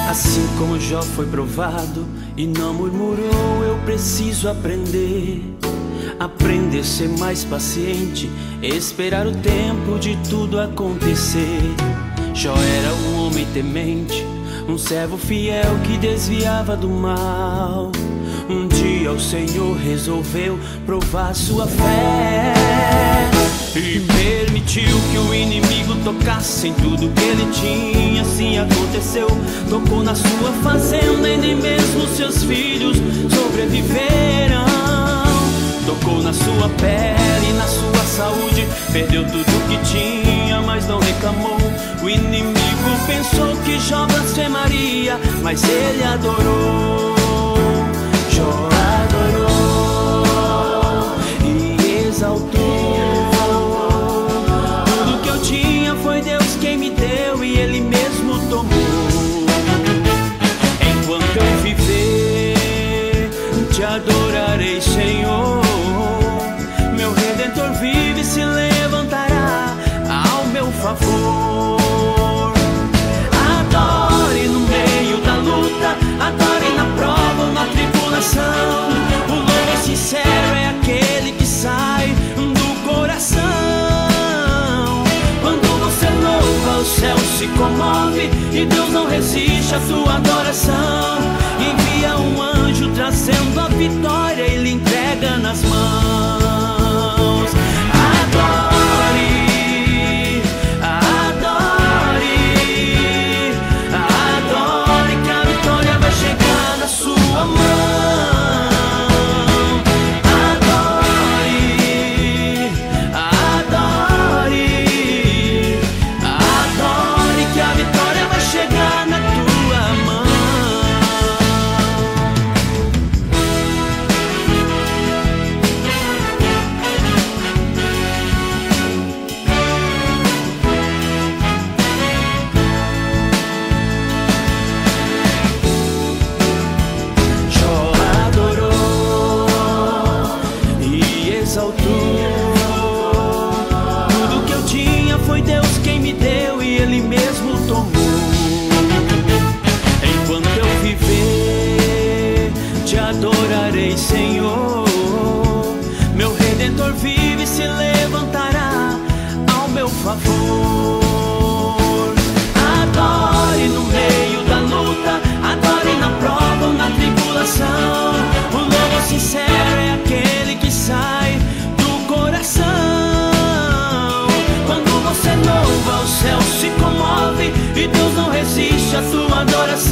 Assim como Jó foi provado e não murmurou, eu preciso aprender a ser mais paciente, esperar o tempo de tudo acontecer. Jó era um homem temente, um servo fiel que desviava do mal. Um dia o Senhor resolveu provar sua fé e permitiu que o inimigo tocasse em tudo que ele tinha. Assim aconteceu, tocou na sua fazenda e nem mesmo seus filhos sobreviveram. Tocou na sua pele e na sua saúde, perdeu tudo que tinha, mas não reclamou. O inimigo pensou que Jó blasfemaria, mas ele adorou. Jó adorou e exaltou. Tudo que eu tinha foi Deus quem me deu e Ele mesmo tomou. Enquanto eu viver, te adorarei, Senhor. Meu Redentor vive e se levantará ao meu favor. Adore no meio da luta, adore na prova ou na tribulação. O louvor sincero é aquele que sai do coração. Quando você louva, o céu se comove e Deus não resiste à sua adoração. Envia um anjo trazendo a vitória e lhe entrega nas mãos. Adore, adore, adore, que a vitória vai chegar na sua mão. Adore, adore, adore, que a vitória vai chegar na tua mão. Jó adorou e exaltou. Tudo que eu tinha foi Deus quem me deu e Ele mesmo tomou. Enquanto eu viver, te adorarei, Senhor. Meu Redentor vive e se levantará ao meu favor. Adore no meio da luta, adore na prova ou na tribulação. O louvor sincero é aquele que sai do coração. Quando você louva, o céu se comove e Deus não resiste à sua adoração.